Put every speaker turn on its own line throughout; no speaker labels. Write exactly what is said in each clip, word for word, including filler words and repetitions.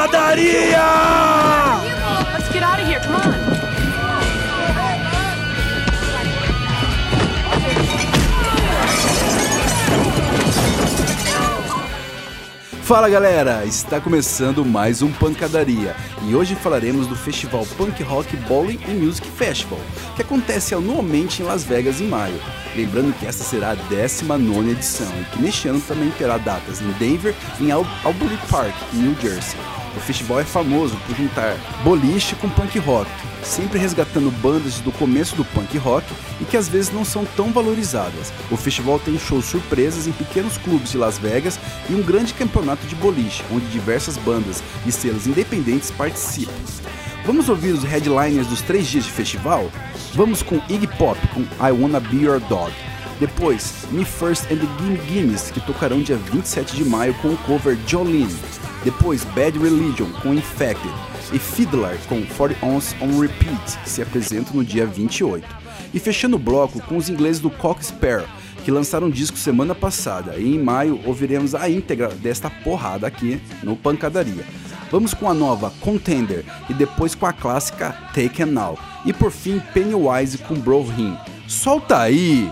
Pancadaria!
Let's get out of here, come on.
Fala galera, está começando mais um Pancadaria e hoje falaremos do festival Punk Rock Bowling and Music Festival, que acontece anualmente em Las Vegas em maio. Lembrando que esta será a décima nona edição e que neste ano também terá datas em Denver e em Al- Albuquerque Park, New Jersey. O festival é famoso por juntar boliche com punk rock, sempre resgatando bandas do começo do punk rock e que às vezes não são tão valorizadas. O festival tem shows surpresas em pequenos clubes de Las Vegas e um grande campeonato de boliche, onde diversas bandas e selos independentes participam. Vamos ouvir os headliners dos três dias de festival? Vamos com Iggy Pop com I Wanna Be Your Dog. Depois, Me First and the Gimme Gimmes, que tocarão dia vinte e sete de maio com o cover Jolene. Depois, Bad Religion com Infected e Fiddler com quarenta Ounce on Repeat, que se apresentam no dia vinte e oito. E fechando o bloco com os ingleses do Cock Sparrow, que lançaram um disco semana passada, e em maio ouviremos a íntegra desta porrada aqui no Pancadaria. Vamos com a nova Contender e depois com a clássica Taken Now. E por fim, Pennywise com Bro Hymn. Solta aí!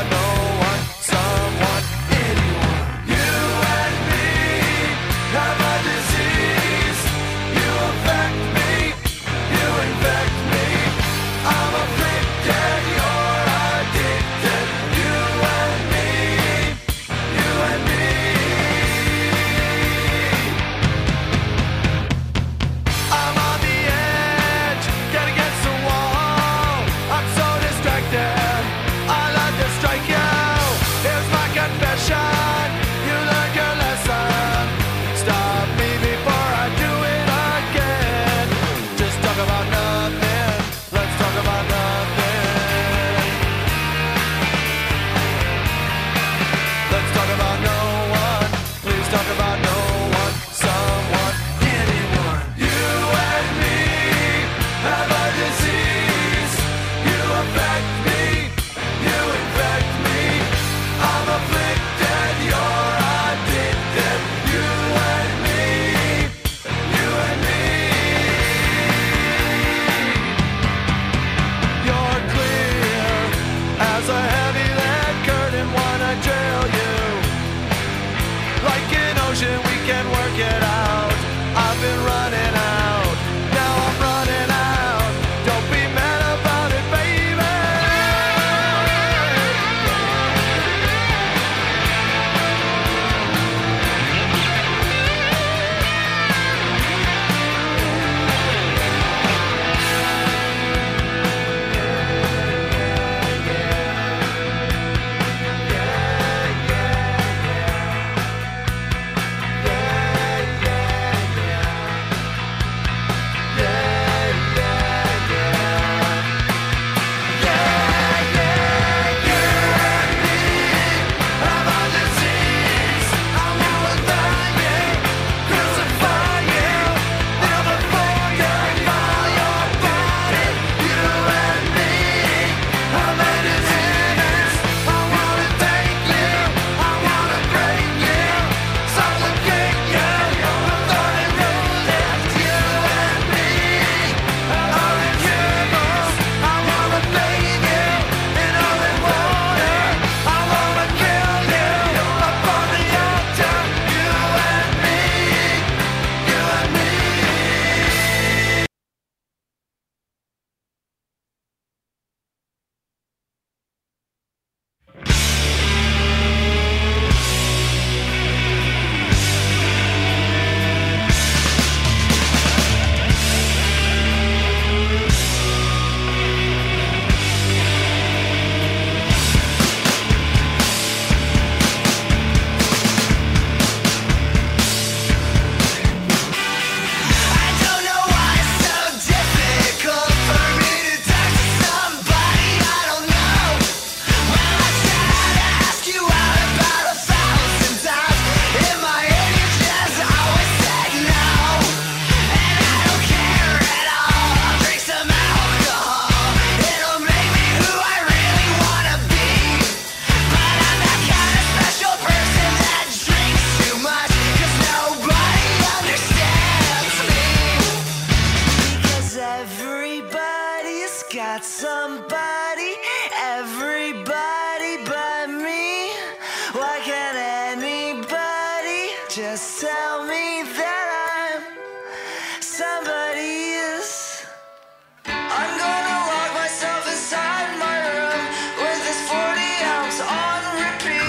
about no one, someone, anyone. You and me have a disease. You affect me, you infect me. I'm afflicted, you're addicted. You and me, you and me. I'm on the edge, get against the wall. I'm so distracted, I like to strike you. Here's my confession, you learned your lesson. Stop me before I do it again. Just talk about nothing, let's talk about nothing. Let's talk about no one, please talk about no one, someone, anyone. You and me have a disease. You affect me, you infect me. I'm afflicted, you're addicted. You and me, you and me. You're clear as a heavy lead curtain, wanna trail you. Like an ocean, we can work it out. I've been running out, now I'm running out. Don't be mad about it, baby. Have a disease, I wanna die, yeah. Crucify you, never forget by your body. You and me have a disease. I wanna take you, I wanna break you, supplicate you, before they roll it. You and me are incurable. I wanna bathe you in holy water. I wanna kill you upon the altar. You and me, you and me. I don't know why it's so difficult for me to talk to somebody I don't know. When I tried to ask you out about a thousand times, in my head you just always said no. And I don't care at all, I'll drink some alcohol. It'll make me who I really wanna be. But I'm that kind of special person that drinks too much, 'cause nobody understands me. Because everybody's got somebody, everybody but me. Why can't anybody just tell me that I'm somebody's? I'm gonna lock myself inside my room with this forty ounce on repeat.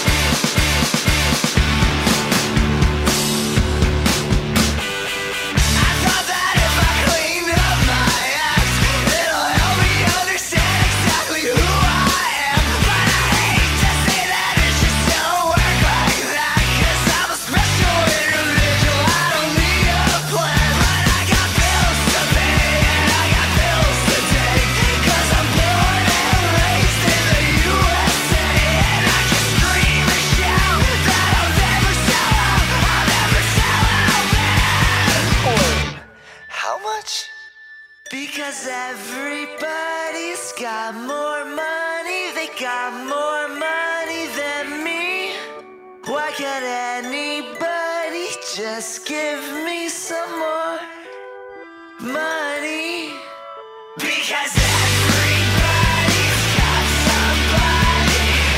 I thought that if I clean up my act, it'll help me understand exactly who I am. But I hate to say that it just don't work like that, 'cause I'm a special individual, I don't need a plan. But I got bills to pay and I got bills to take, 'cause I'm born and raised in the U S A. And I can scream and shout that I'll never sell out, I'll never sell out, man. How much? Because everybody's got more money, they got more money than me. Why can't anybody just give me some more money? Because everybody's got somebody,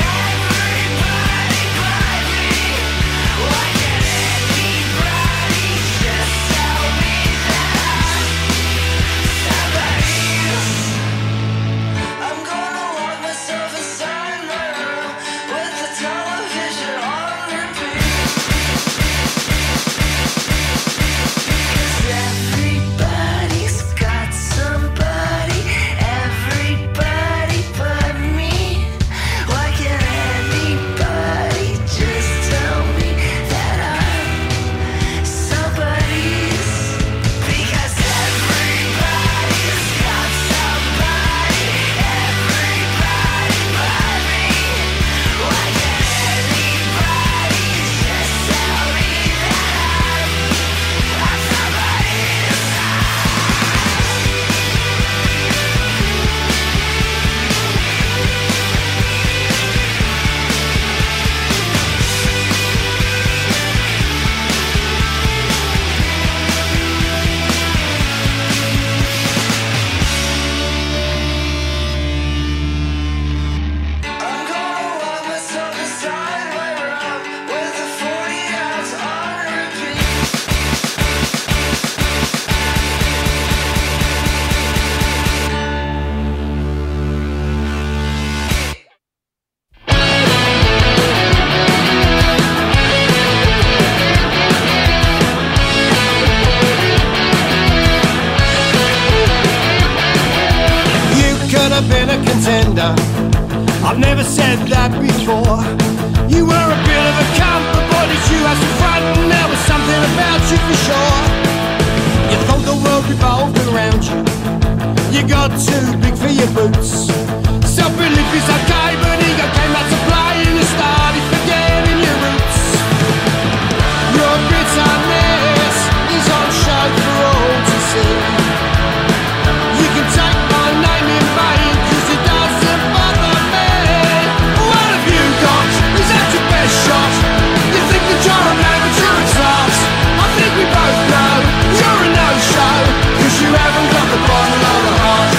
I've never said that before. You were a bit of a cunt, but boy did you have some front, and there was something about you for sure. You thought the world revolved around you. You got too big for your boots. Self-belief is okay, but ego came out to play, and you started forgetting your roots. Your bitterness is on show for all to see. You can take my name in vain, cause it doesn't bother me. What have you got? Is that your best shot? You think that you're a man, but you're a tart. I think we both know you're a no-show, cause you haven't got the bottle of the heart.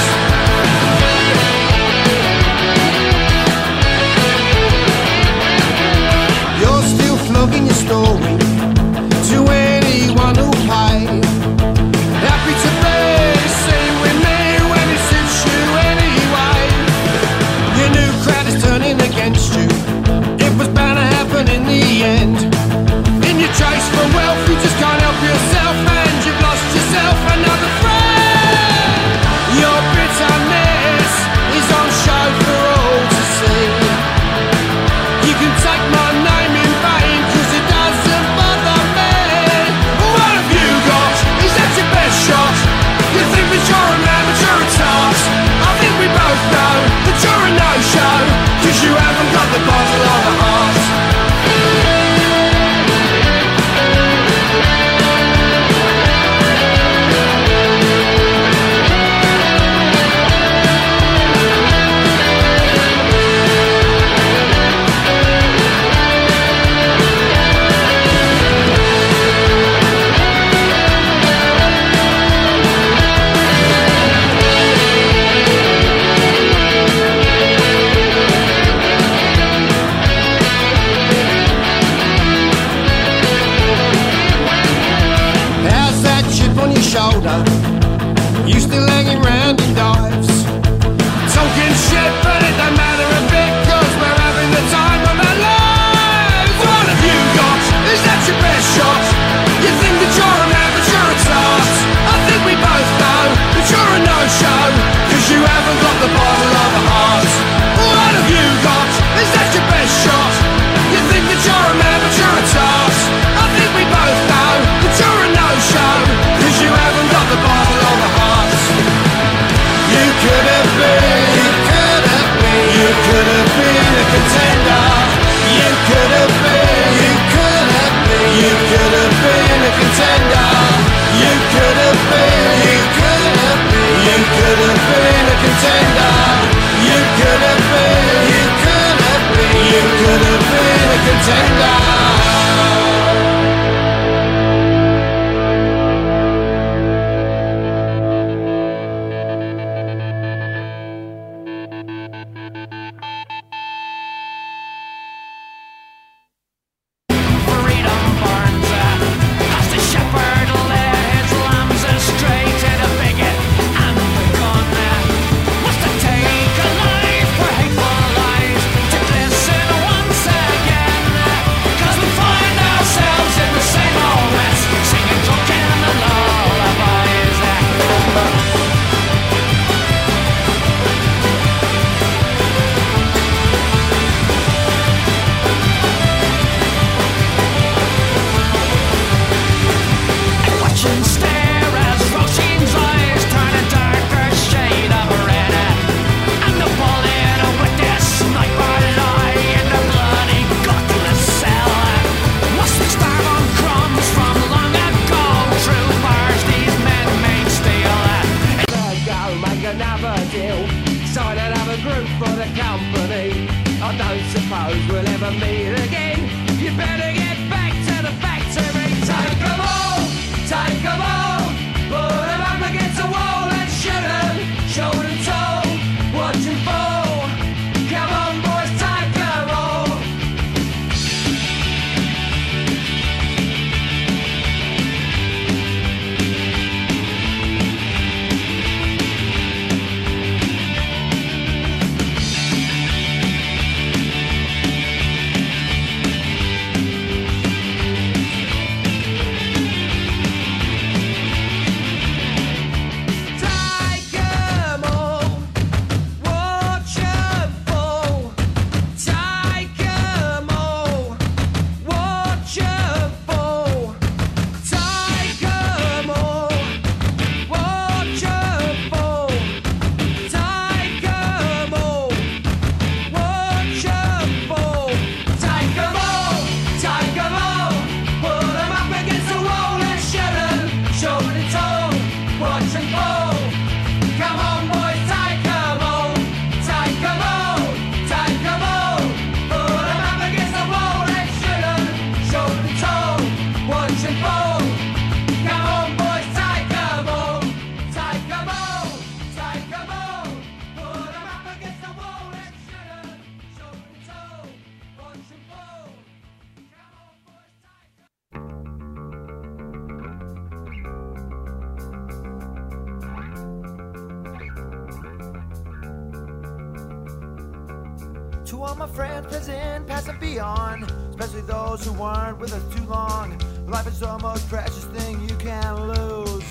You're still flogging your story to anyone who'll pay. Happy to be seen with me when it suits you anyway. Your new crowd is turning against you. It was bound to happen in the end. In your chase for wealth, you just can't help yourself, and you've lost yourself another friend. Your bitterness is on show for all to see. You can take my name in vain, cause it doesn't bother me. What have you got? Is that your best shot? You think that you're a man, but you're a tart. I think we both know that you're a no-show, cause you haven't got the bottle of the heart. How's that chip on your shoulder? You still hanging round in dives, talking shit, but it don't matter a bit, cause we're having the time of our lives. What have you got? Is that your best shot? You think that you're a man, but you're a tart. I think we both know that you're a no-show, cause you haven't got the bottle of a heart. What have you got? Is that your best shot? You think that you're a man, but you're a tart. I think we both know that you're a no-show, cause you haven't got the bottle of a heart. You could have been, you could have been, you could have been a contender. You could have been, you could have been, you could have been a contender. You could have been, you could have been, you could have been a contender. You could have been, you could have been, you could have been a contender.
Freedom burns uh, as the shepherd led his lambs astray to the bigot and the gun. Must have take a life for hateful lies to glisten once again, cause we find ourselves in the same old mess, singing drunken and lullabies. Watch and stare as Roshin's eyes turn a darker shade of red, and the bullet with their sniper lie in the bloody gutless cell. Must we starve on crumbs from long ago? True bars these men made steel.
Go make another deal, sign another group for the company. I don't suppose we'll ever meet again. You better get back to the factory. Take 'em all, take 'em all, put 'em up against a wall and shoot 'em, short and tall, watch 'em fall. Come on boys, take 'em all.
all my friends, present, past and beyond, especially those who weren't with us too long. Life is the most precious thing you can lose.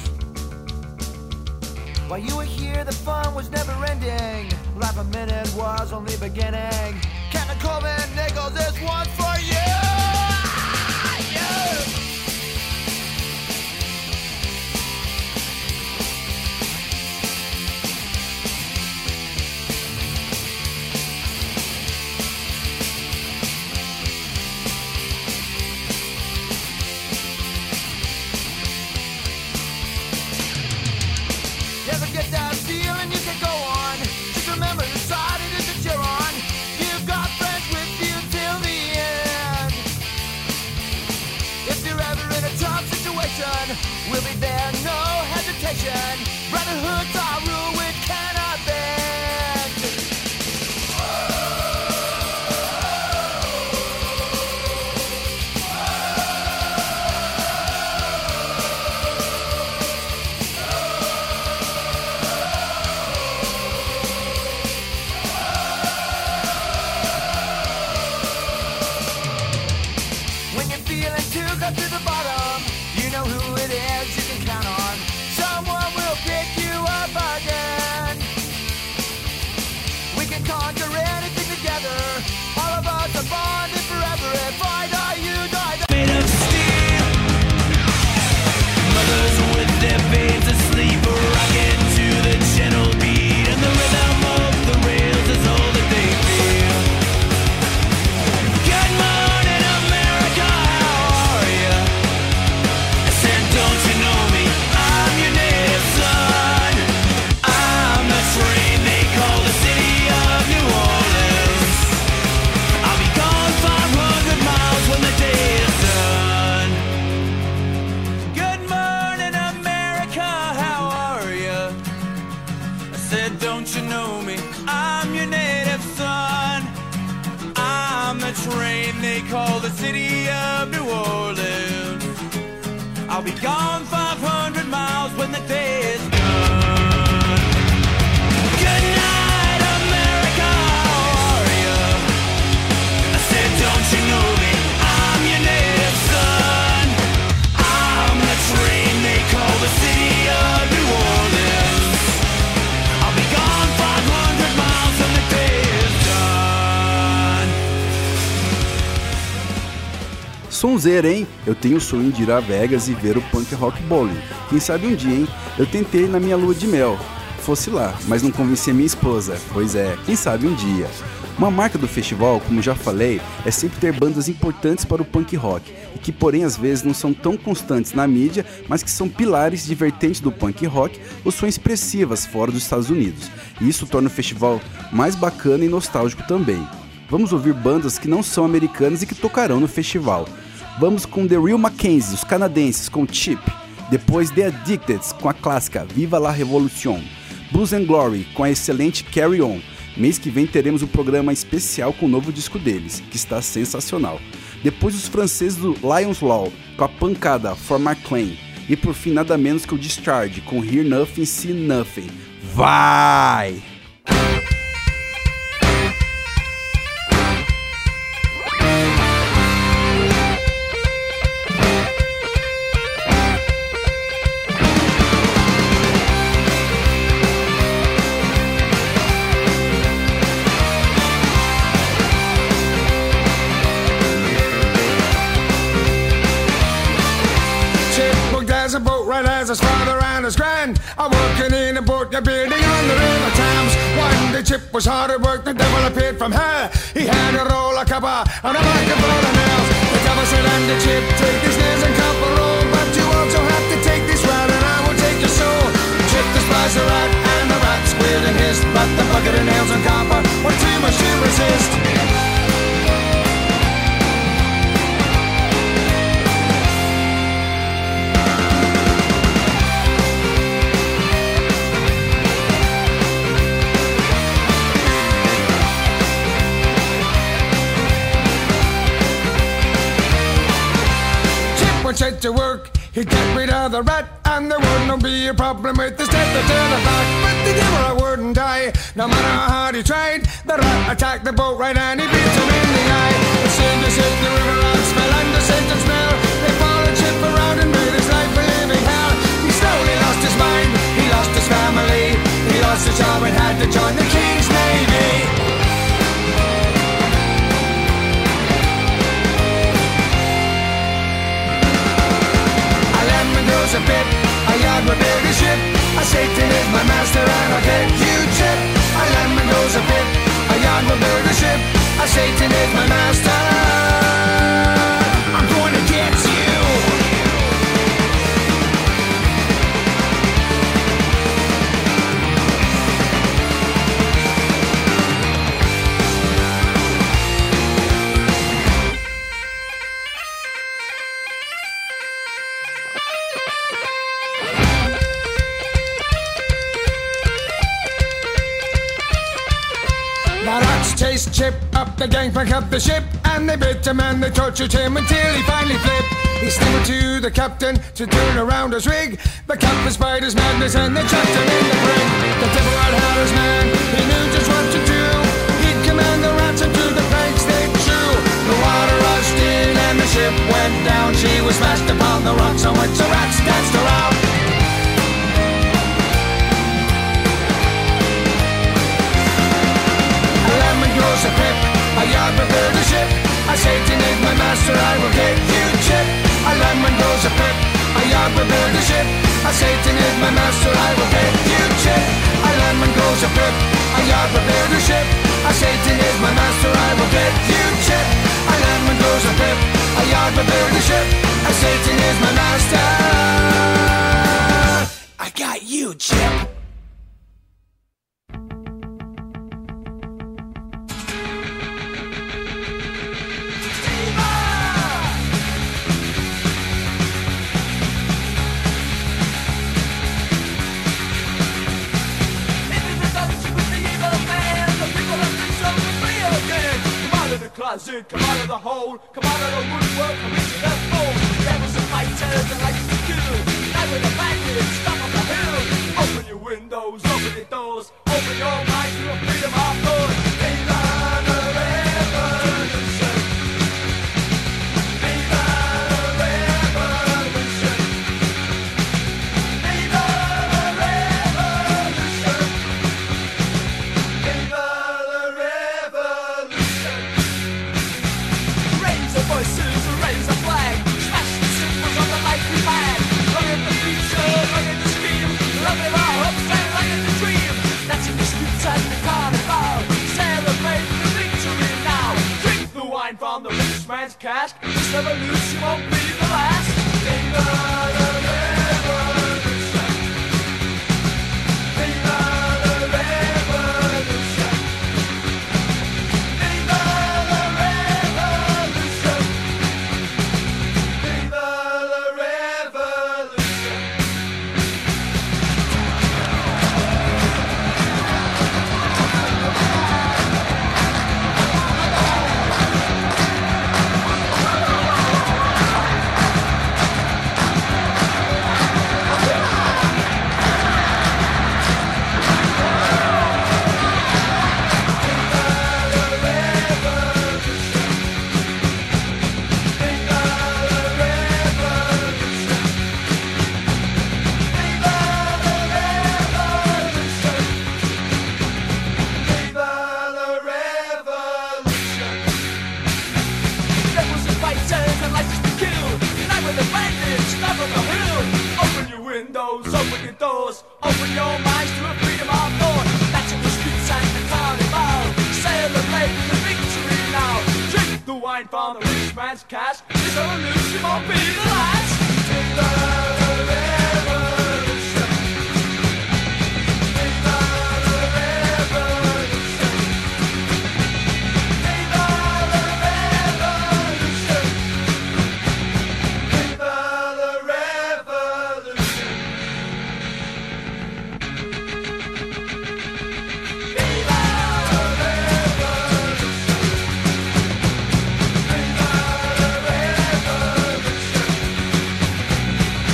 While you were here, the fun was never ending. Life a minute was only beginning. Captain Coleman Nichols, this one for you! Yeah! Get that feeling you can go on. Just remember the side it is that you're on. You've got friends with you till the end. If you're ever in a tough situation, we'll be there, no hesitation. Brotherhood's our rule, we cannot bend. To the bottom, you know who it is you can count on. Someone will pick you up again. We can conquer anything together. All of us are bonded forever. If I die, you die. Made of steel. Mothers with their babes asleep, rocking to the gentle beat, and the rhythm of the rails is all that they feel. Good morning, America. Don't you know me? I'm your native son. I'm the train they call the city of New Orleans. I'll be gone five hundred miles when the day is done. Good morning, America, how are you? I said, don't you know me? I'm your native son. I'm the train they call the city of New Orleans. I'll be gone five hundred miles when the day is done. Good night, America, how are you? I said, don't you know me? I'm your native son. I'm the train they call the city of New Orleans. I'll be gone five hundred miles when the day is done.
Sonzeira, hein? Eu tenho o sonho de ir a Vegas e ver o Punk Rock Bowling. Quem sabe um dia, hein? Eu tentei na minha lua de mel. Fosse lá, mas não convenci a minha esposa. Pois é, quem sabe um dia. Uma marca do festival, como já falei, é sempre ter bandas importantes para o punk rock, e que porém às vezes não são tão constantes na mídia, mas que são pilares de vertentes do punk rock ou são expressivas fora dos Estados Unidos. E isso torna o festival mais bacana e nostálgico também. Vamos ouvir bandas que não são americanas e que tocarão no festival. Vamos com The Real Mackenzie, os canadenses, com Chip. Depois The Addicted, com a clássica Viva la Revolution. Blues and Glory, com a excelente Carry On. Mês que vem teremos um programa especial com o novo disco deles, que está sensacional. Depois os franceses do Lions Law, com a pancada For My Claim. E por fim nada menos que o Discharge, com Hear Nothing, See Nothing. Vai!
There's a boat right as his father and his grand are working in a boat, they're building on the river Thames. One day Chip was hard at work, the devil appeared from hell. He had a roll of copper and a bucket full of nails. The devil said, and the Chip, take these nails and copper roll, but you also have to take this rat and I will take your soul. Chip despised the rat and the rat squealed and hissed, but the bucket of nails and copper were too much to resist. Set to work, He'd get rid of the rat and there wouldn't be a problem with the step to the back. But the devil wouldn't die, no matter how hard he tried. The rat attacked the boat right and he beat him in the eye. The sailor said the river rat smell and the Satan smell. They followed ship around and made his life a living hell. He slowly lost his mind, he lost his family. He lost his job and had to join the King's Navy. A bit, a yard will build a ship. A Satan is my master and I'll get you chip. A lemon goes a bit, a yard will build a ship. A Satan is my master. I'm going to get you. Chased Chip up the gangplank of the ship, and they bit him and they tortured him until he finally flipped. He stammered to the captain to turn around his rig. The captain spied his madness and they chucked him in the brig. The devil had had his man, he knew just what to do. He'd command the rats and to the planks they chew. The water rushed in and the ship went down. She was smashed upon the rocks on which the rats danced around. A pip, a yard prepared a ship. A Satan is my master, I will get you chip. A lemon goes a pip, a yard prepared a ship. A Satan is my master, I will get you chip. A lemon goes a pip, a yard prepared a ship. A Satan is my master, I will get you chip. A lemon goes a pip, a yard prepared a ship. A Satan is my master. I got you, Chip.
Closet, come out of the hole, come out of the woodwork, come into the fold. Devils and fighters and like to kill. Now with a bandit, stop on the hill. Open your windows, open your doors, open your mind to a freedom of thought. Viva the revolution. Viva the revolution. Viva the revolution. Viva the revolution. Raise the voices, raise a flag. Smash the symbols of the life we've had. Look at the future, look at the stream. Look at our hopes and look at the dream. That's in the streets at the carnival. Celebrate the victory now. Drink the wine from the rich man's cask. This revolution won't be the last. Viva the revolution. Viva the revolution. Viva the revolution. Viva the revolution. Devils and fighters and license to kill. Unite with the bandits, stop on the hill. Open your windows, open your doors, open your minds to a freedom of thought. That's in the streets and the carnival. Celebrate the victory now. Drink the wine from the rich man's cask. This revolution won't be the last. Viva the revolution. Viva the revolution. Viva the revolution. Viva the revolution. Viva the revolution.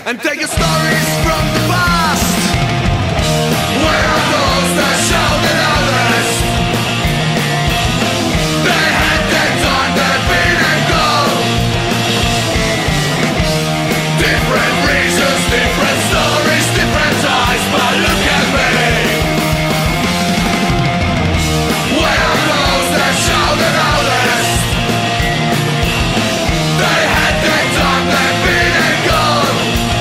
and take your stories from the past. Where are those that shouted others? They had their time, they've been and gone. Different reasons, different stories, different eyes, but look at me. Where are those that shouted others? They had their time, they've been and gone.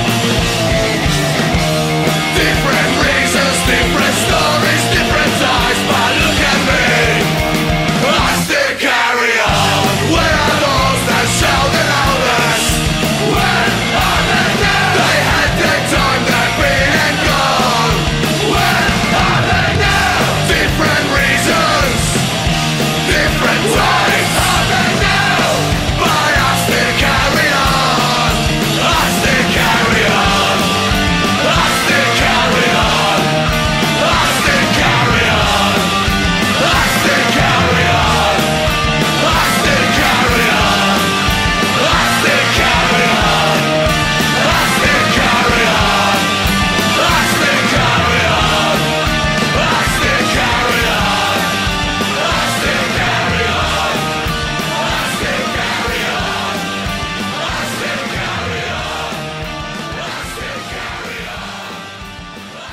Different reasons, different stories, different eyes, but look at me. I still carry on. Where are those that shouted others? Where are they now? They had their time, they've been and gone. Where are they now? Different reasons, different times. Where are they now? But I still carry on. I still carry on. I still carry on. I still carry on. I still carry on. I still carry on. I still carry on. I still carry on. I still carry on. I still carry on. I still carry on. I still carry on. I still carry on. I still carry on.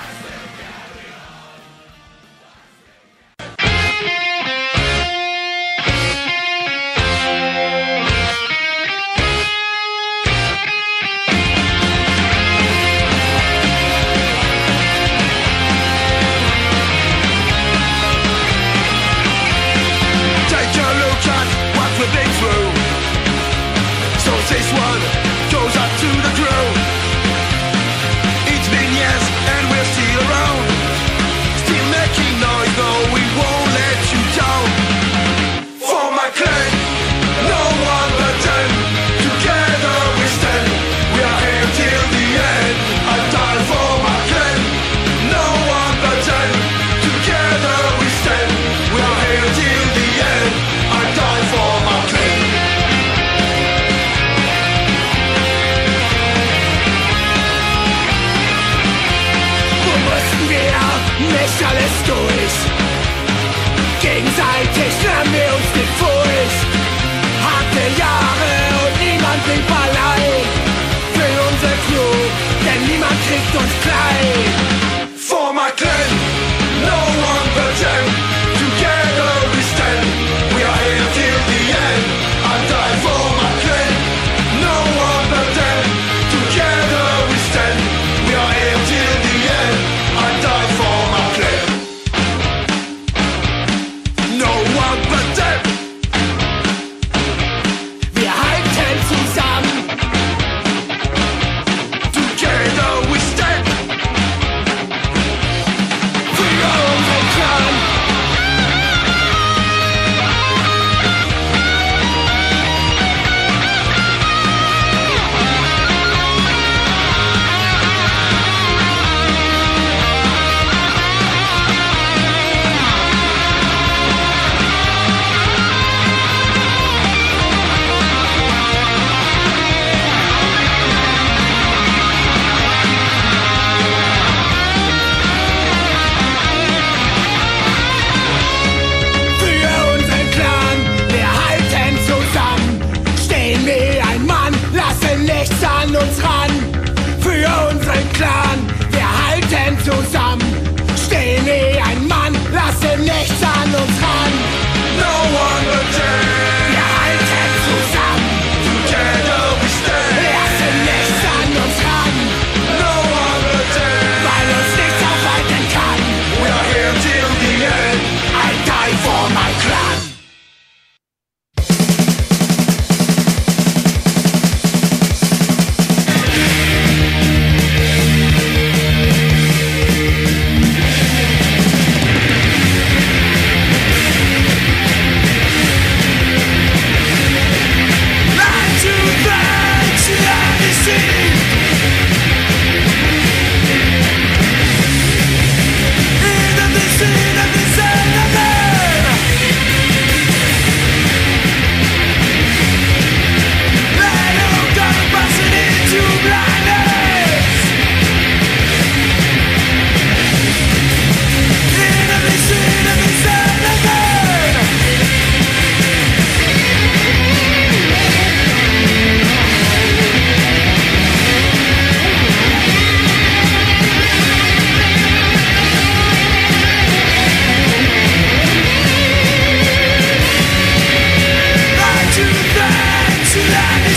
Take a look at what we've been through. So this one goes up to the crew. It's been years and we're still around, still making noise, no, we won't let you down. For my clan, no one but them. Together we stand, we are here till the end. I die for my clan, no one but them. Together we stand, we are here till the end. I die for my clan. Wo mussten wir nicht alles durch? Gegenseitig nahmen wir uns die Furcht. Harte Jahre und niemand blieb allein. Für unser Crew, denn niemand kriegt uns klein. For my clan, no one but them. Together we stand, we are here till the end. I die for my clan, no one but them. Together we stand, we are here till the end. I die for my clan.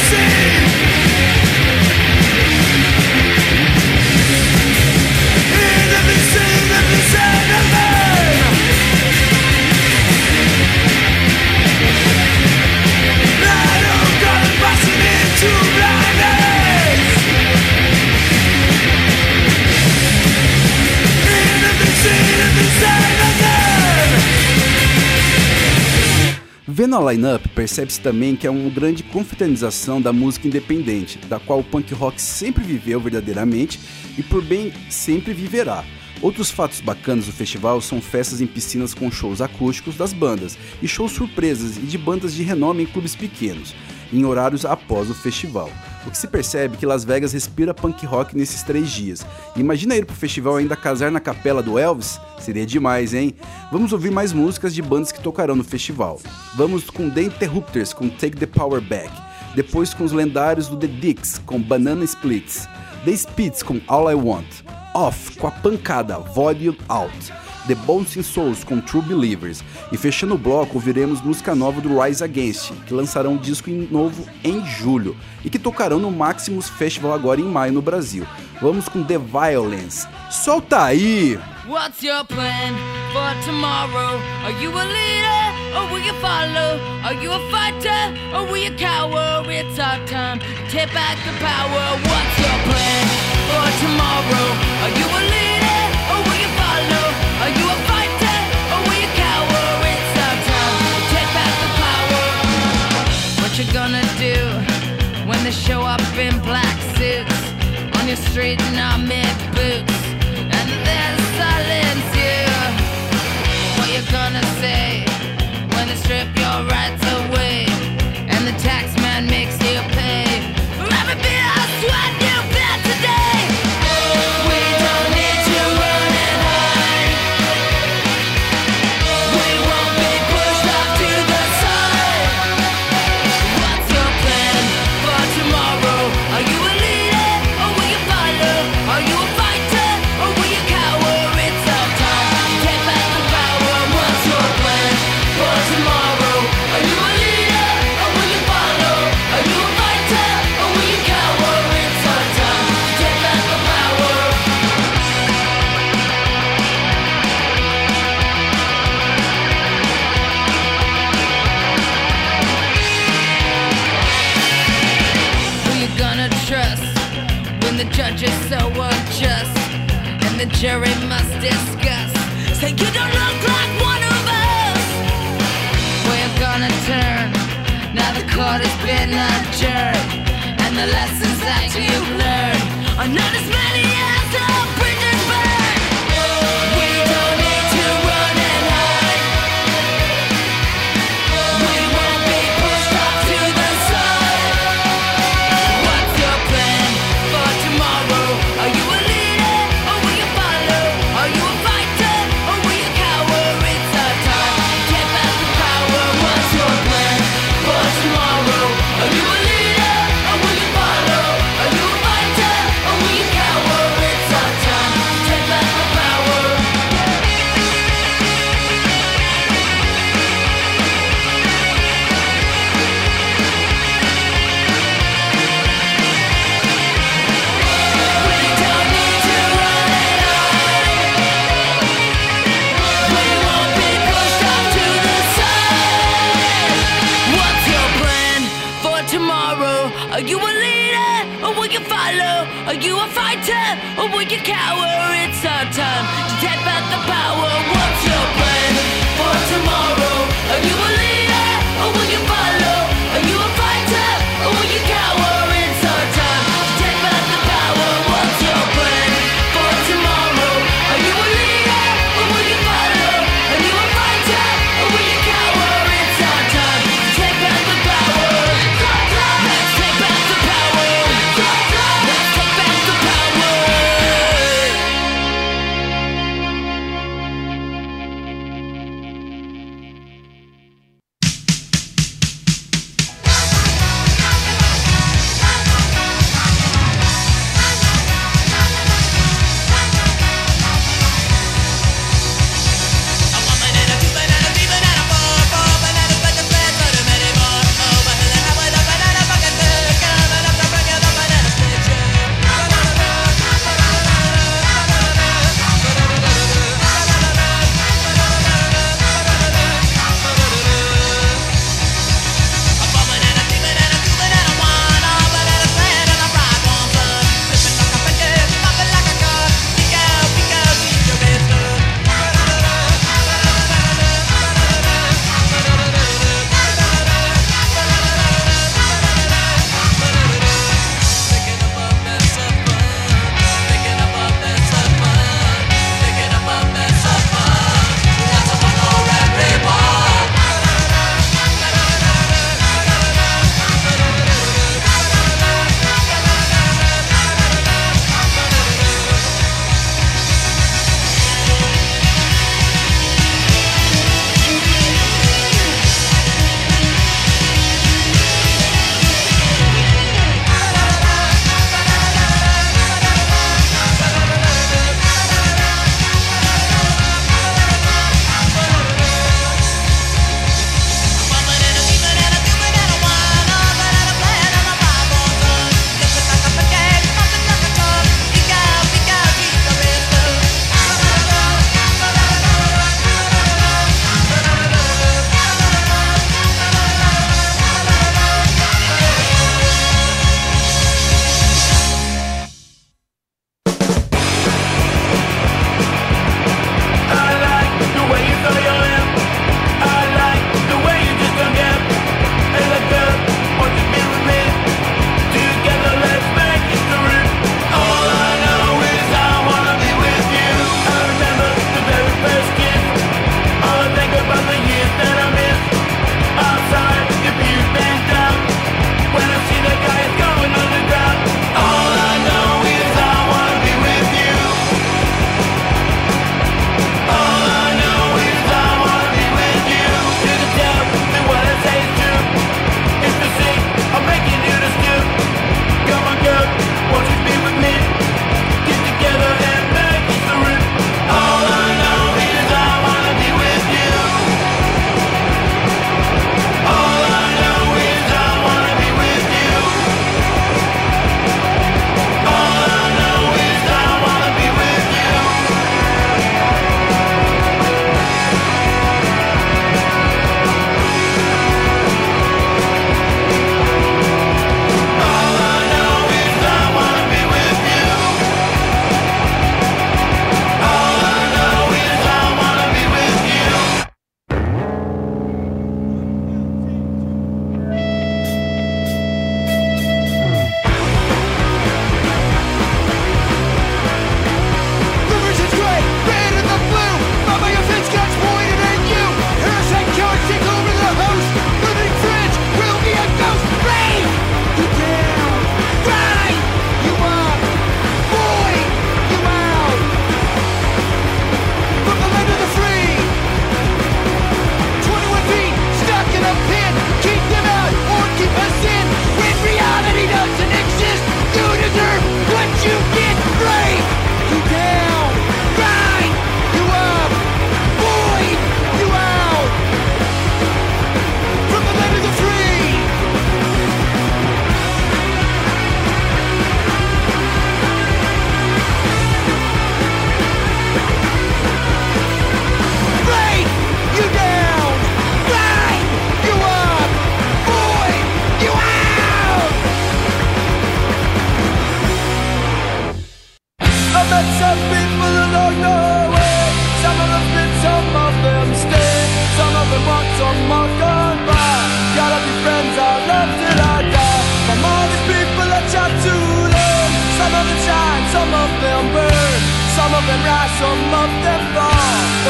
Vendo a line-up, percebe-se também que é uma grande confraternização da música independente, da qual o punk rock sempre viveu verdadeiramente e por bem sempre viverá. Outros fatos bacanas do festival são festas em piscinas com shows acústicos das bandas e shows surpresas e de bandas de renome em clubes pequenos, em horários após o festival. O que se percebe é que Las Vegas respira punk rock nesses três dias. E imagina ir pro festival ainda casar na capela do Elvis? Seria demais, hein? Vamos ouvir mais músicas de bandas que tocarão no festival. Vamos com The Interrupters com Take the Power Back. Depois com os lendários do The Dicks com Banana Splits. The Spits com All I Want. Off com a pancada Volume Out. The Bouncing Souls com True Believers. E fechando o bloco, ouviremos música nova do Rise Against, que lançarão um disco novo em julho e que tocarão no Maximus Festival agora em maio no Brasil. Vamos com The Violence. Solta aí!
What's your plan for tomorrow? Are you a leader or will you follow? Are you a fighter or will you cower? It's our time to take back the power. What's your plan for tomorrow? Are you a leader or will you follow? Are you a fighter or will you cower? It's our time to take back the power. What you gonna do when they show up in black suits on your street in army boots? And they'll silence you. What you gonna say when they strip your rights away and the tax man makes you pay for every bit of sweat you bet today? We don't need to run and hide. We won't be pushed off to the side. What's your plan for tomorrow? Are you a leader or will you follow? Are you a fighter or will you cower? It's our time to take back the power. What's your plan for tomorrow? Are you a leader or will you follow? Are you a fighter or will you cower? It's our time to take back the power. Who you gonna trust when the judge is so unjust and the jury must discuss? Say you don't look like one of us. Where you gonna turn? Now the court has been adjourned and the lessons that you've learned are not as many as the bridges burn. We don't need to run and hide. We won't be pushed off to the side. What's your plan for tomorrow? Are you a leader or will you follow? Are you a fighter or will you cower? It's our time to take back the power. What's your plan for tomorrow? Are you a leader or will you follow? Are you a fighter or will you cower? It's our time to take back the power. We don't need to run and hide. We won't be pushed off to the side. What's your plan for tomorrow? Are you a leader or will you follow? Are you a fighter or will you cower? It's our time to take back the power. What's your plan for tomorrow? Are you a leader or will you follow? Are you a fighter or will you cower? It's our time to take back the power. What's your plan for tomorrow? Are you a leader or will you follow? Are you a fighter or will you cower? It's our time to take back the power. Let's take back the power. Let's take back the power.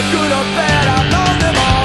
good or bad, I've known them all.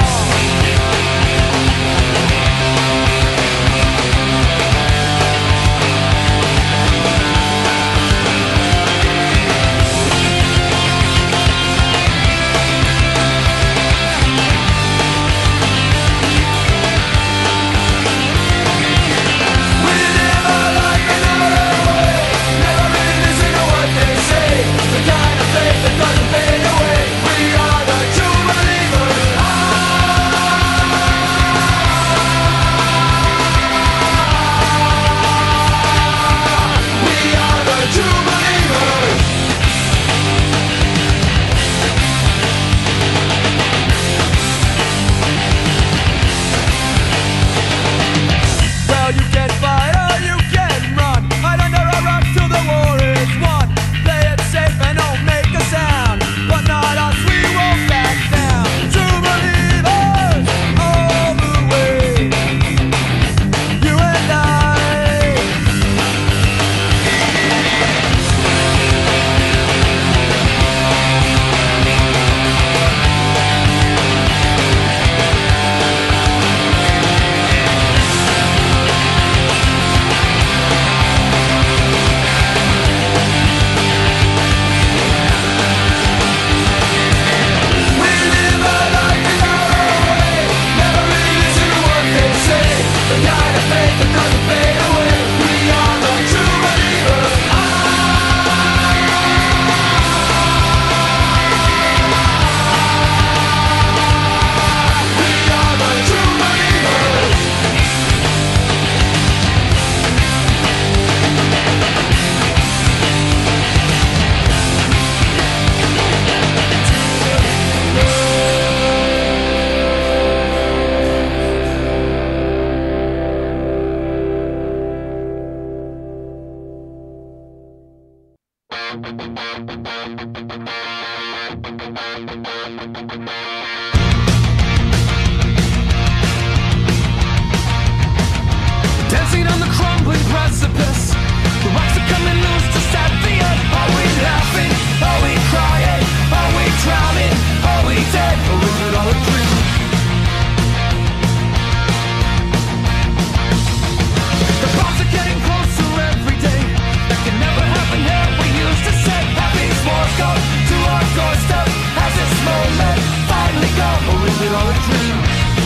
Dancing on the crumbling precipice, the rocks are coming loose just at the end. Are we laughing? Are we crying? Are we drowning? Are we dead? Or is it all a dream? The bombs are getting closer every day. That can never happen here. We used to say happy Morse code to our doorstep. Has this moment finally come? Or is it all a dream?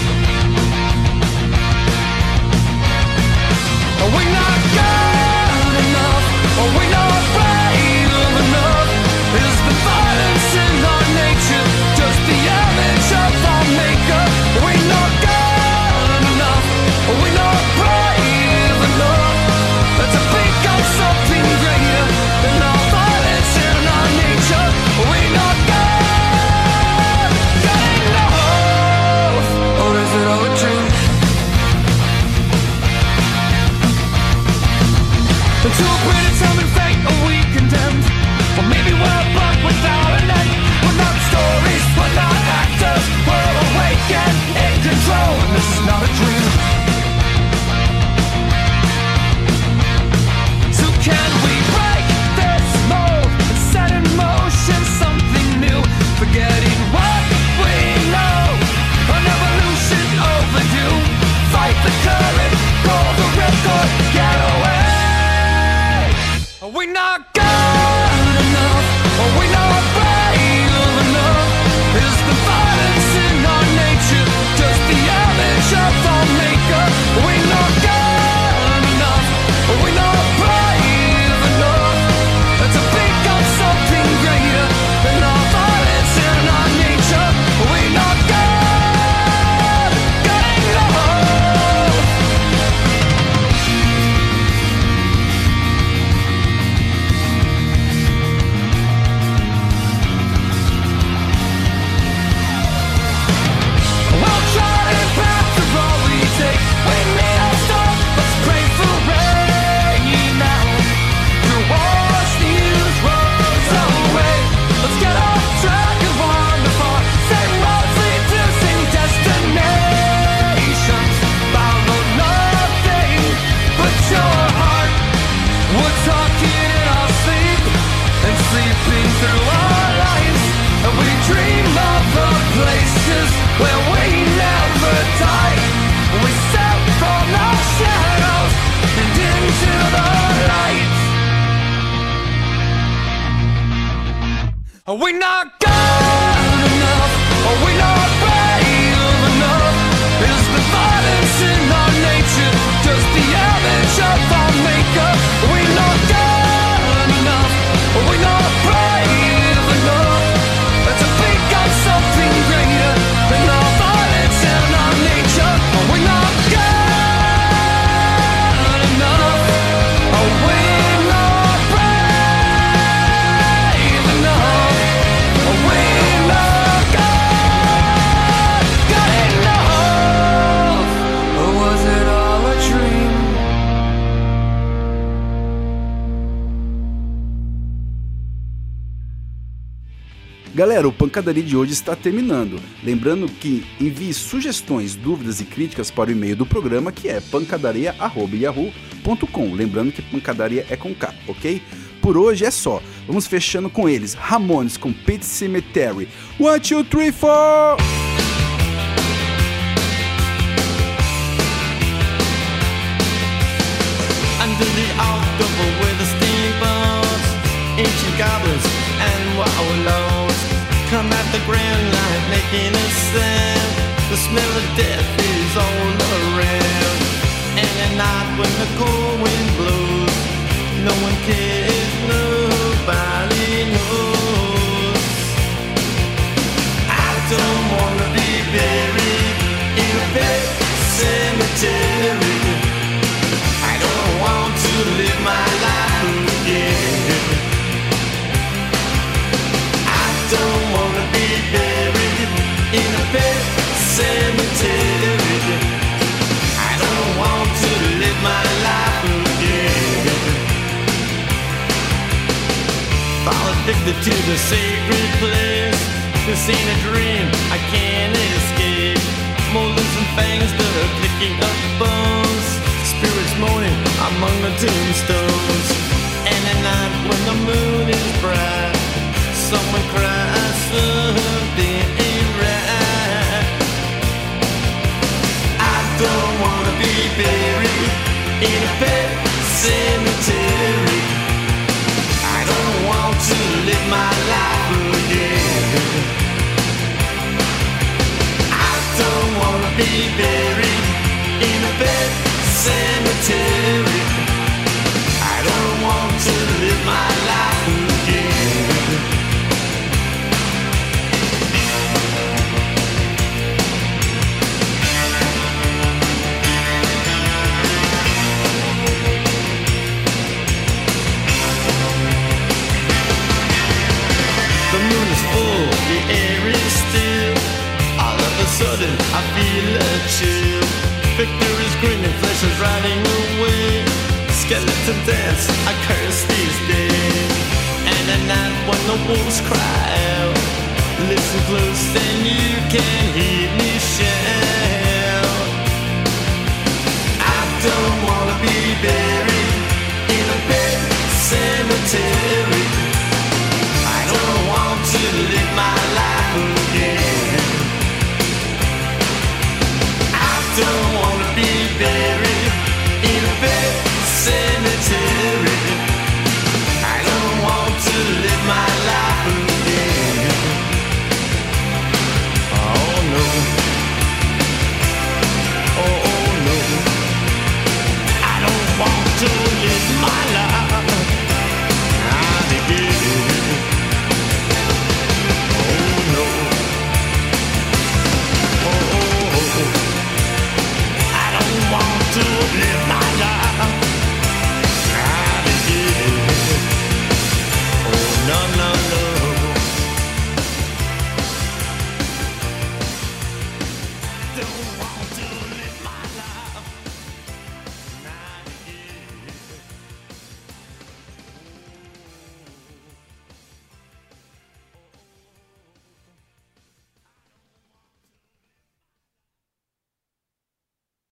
Are we not good enough? Are we not brave enough? Is the violence in our nature just the image of our maker? Are we not good enough? Are we not brave enough? To think of something greater than our violence in our nature? Are we not good, good enough? Or is it all a dream? To a predetermined fate, are we condemned? Or maybe we're a bug without an end. We're not stories, we're not actors. We're awake and in control, and this is not a dream. So can we break this mold and set in motion something new? Forgetting what we know, an evolution overdue. Fight the current, call the ripcord, get away. Are we not good
Are we not good enough? Are we not brave enough? Is the violence in our nature just the image of our maker? Are we not good enough? Are we not brave enough? To think of something greater than our violence and our nature? Are we not good enough? Are we not brave enough? Are we not good, good enough? Or was it all a dream?
Galera, o Pancadaria de hoje está terminando. Lembrando que envie sugestões, dúvidas e críticas para o e-mail do programa, que é pancadaria arroba yahoo ponto com. Lembrando que pancadaria é com K, ok? Por hoje é só. Vamos fechando com eles. Ramones com Pet Sematary. One, two, three, four!
Under the October with the steamboats, ancient goblins and wallows come at the grand light making a sound. The smell of death is all around. And at night when the cold wind blows, no one cares, nobody knows. I don't wanna be buried in a pet cemetery. I don't want to live my life again. I don't wanna be buried in a pet cemetery. I don't want to live my life again. Fall addicted to the sacred place. This ain't a dream, I can't escape. Molars and fangs that are picking up bones. Spirits moaning among the tombstones. And at night when the moon is bright, someone cries something ain't right. I don't wanna be buried in a pet cemetery. I don't want to live my life again. I don't wanna be buried in a pet cemetery. I don't want to live my life again. The moon is full, the air is still. All of a sudden I feel a chill. Victor is grinning, flesh is riding away. Skeleton dance, I curse these days. And at night when the wolves cry out, listen close and you can hear me shout. I don't wanna be